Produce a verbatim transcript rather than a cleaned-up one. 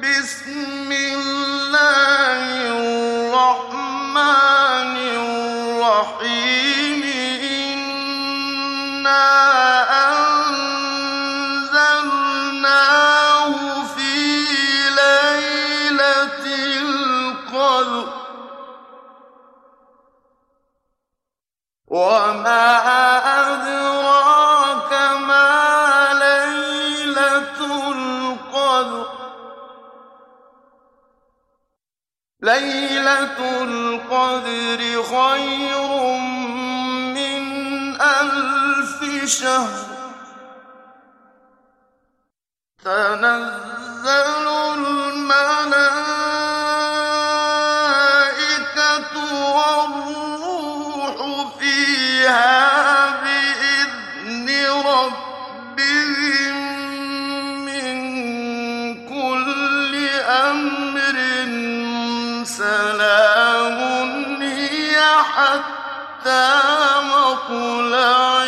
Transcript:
بسم الله الرحمن الرحيم إنا أنزلناه في ليلة القدر وما أدراك ما ليلة القدر ليلة القدر خير من ألف شهر تنزل الملائكة والروح فيها بإذن ربهم من كل أمر سلام هي حتى مطلع